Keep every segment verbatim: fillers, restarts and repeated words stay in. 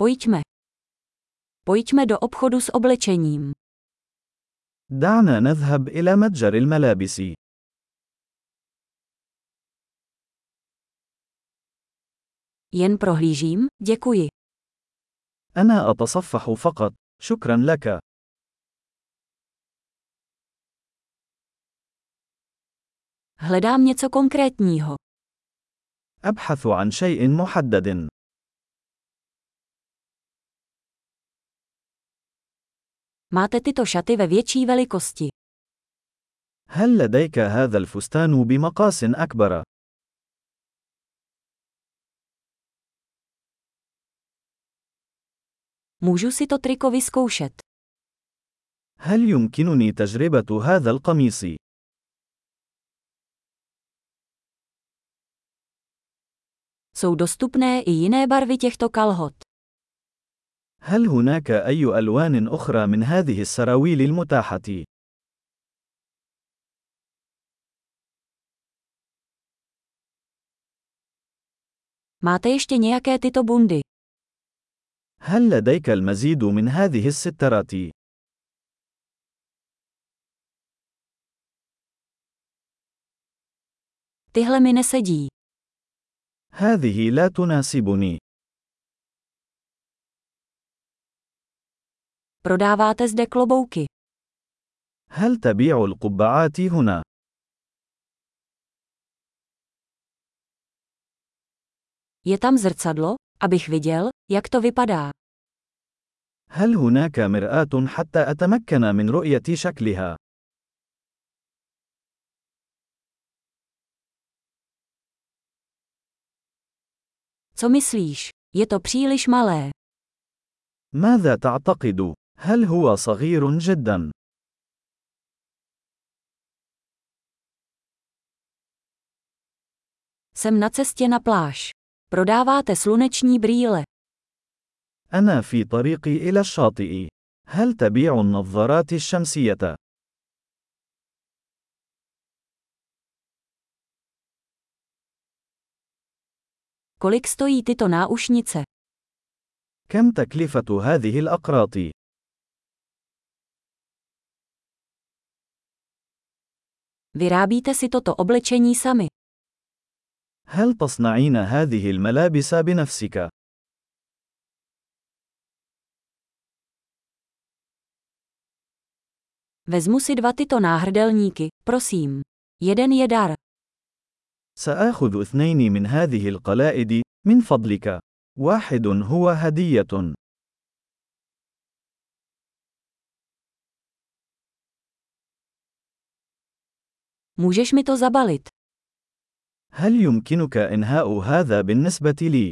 Pojďme. Pojďme do obchodu s oblečením. دعنا نذهب إلى متجر الملابس. Jen prohlížím, děkuji. أنا أتصفح فقط. شكرا لك. Hledám něco konkrétního. أبحث عن شيء محدد. Máte tyto šaty ve větší velikosti. هل لديك هذا الفستان بمقاس أكبر؟ Můžu si to triko vyzkoušet. هل يمكنني تجربة هذا القميص؟ Jsou dostupné i jiné barvy těchto kalhot. هل هناك أي ألوان أخرى من هذه السراويل المتاحة؟ Máte ještě nějaké tyto bundy? هل لديك المزيد من هذه السترات؟ Tyhle mi nesedí. هذه لا تناسبني. Prodáváte zde klobouky. هل تبيع القبعات هنا؟ Je tam zrcadlo, abych viděl, jak to vypadá. هل هناك مرآة حتى أتمكن من رؤية شكلها؟ Co myslíš? Je to příliš malé. ماذا تعتقد؟ هل هو صغير جدا؟ Jsem na cestě na pláž. Prodáváte sluneční brýle. أنا في طريقي إلى الشاطئ. هل تبيع النظارات الشمسية؟ Kolik stojí tyto náušnice? كم تكلفة هذه الأقراط؟ Vyrábíte si toto oblečení sami. هل تصنعين هذه الملابس بنفسك؟ Vezmu si dva tyto náhrdelníky, prosím. Jeden je dar. سآخذ اثنين من هذه القلائد، من فضلك. واحد هو هدية. Můžeš mi to zabalit? هل يمكنك إنهاء هذا بالنسبة لي؟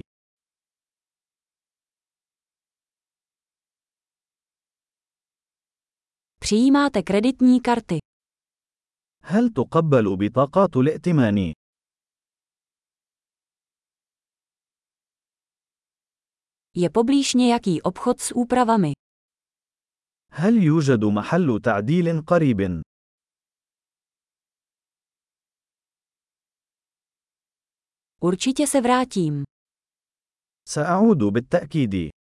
Přijímáte kreditní karty. هل تقبل بطاقات الائتمان؟ Je poblíž nějaký obchod s úpravami. هل يوجد محل تعديل قريب؟ Určitě se vrátím. سأعود بالتأكيد.